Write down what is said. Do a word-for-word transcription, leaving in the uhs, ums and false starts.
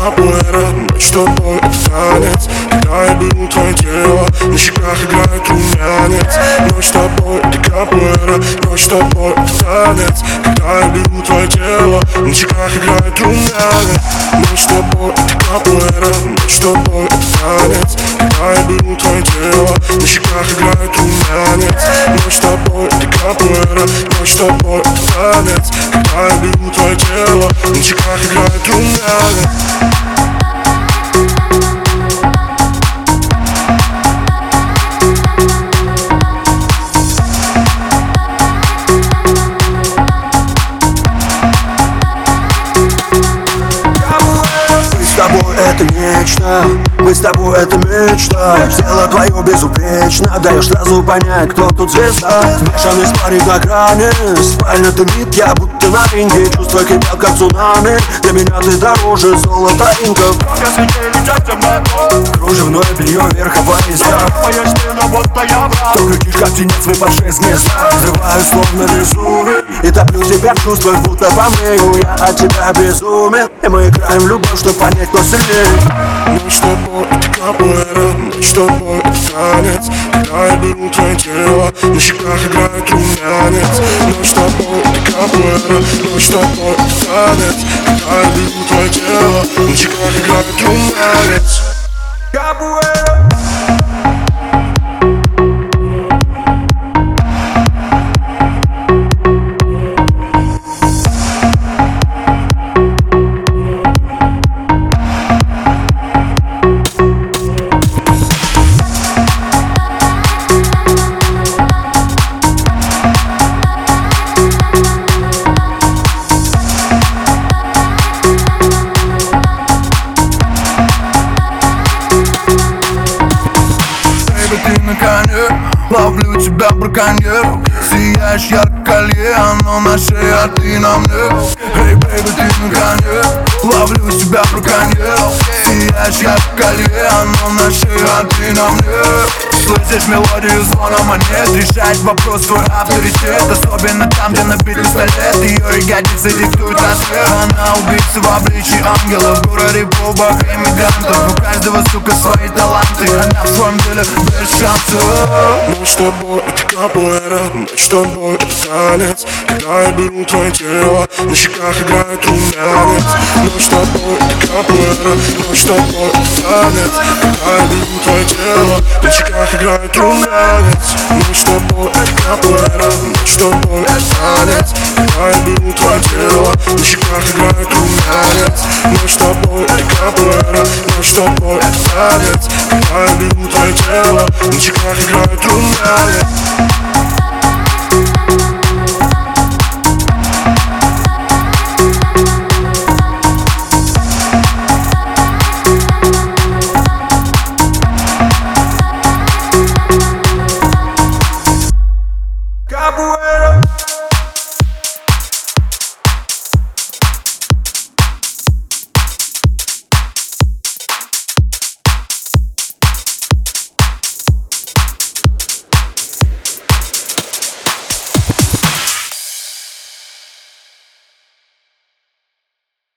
капуэра, ночь с тобой это танец. Когда я беру твое тело, на щеках играет румянец. Ночь с тобой это капуэра, ночь с тобой это танец. Когда я беру твое тело, на щеках играет румянец. Ночь с тобой это капуэра, ночь с тобой это танец. Когда я беру твое тело, на щеках играет румянец. Ночь с тобой это капуэра, ночь с тобой это танец. Когда я беру твое тело, на щеках играет румянец. Это нечто, мы с тобой это мечта. Тело твое безупречно, даешь сразу понять, кто тут звезда. Смешанный спарринг на грани, спальня дымит, я будто на ринге. Чувства кипят как цунами, для меня ты дороже золота инков. Кружевное белье верховая езда. Только кишка птенец выпавшие с места. Взрываю словно Везувий и топлю тебя в чувствах, будто помню. Я от тебя безумен, и мы играем в любовь, чтобы понять, кто сильнее. Ночь с тобой это капуэра, ночь с тобой это танец. Когда я беру твое тело, на щеках играет румянец. Ночь с тобой это капуэра, ночь с тобой это танец. Когда я беру твое тело, на щеках играет румянец. Капуэра. Ловлю тебя, браконьер. Сияешь ярко колье, оно на шее, а ты на мне. Эй, бэйби, ты на коне. Ловлю тебя, браконьер. Сияешь ярко колье, оно на шее, а ты на мне. Слышишь мелодию звона монет, решает вопрос твой авторитет. Особенно там, где набит пистолет. Ее ягодицы диктуют рассвет. Она убийца в обличии ангела. В городе полбах иммигрантов. У каждого, сука, свои таланты. Она в своем деле без шансов. Ночь с тобой это капуэра, ночь с тобой это танец. Когда я беру твое тело, на щеках играет румянец. Ночь с тобой это капуэра, ночь с тобой это танец. Когда я беру твое тело, на щеках играет румянец. Ночь с тобой это капуэра, ночь с тобой это танец. Когда я беру твое тело, на щеках играет румянец. Ночь с тобой это капуэра, ночь с тобой это танец. Когда я беру твое тело, на щеках играет румянец.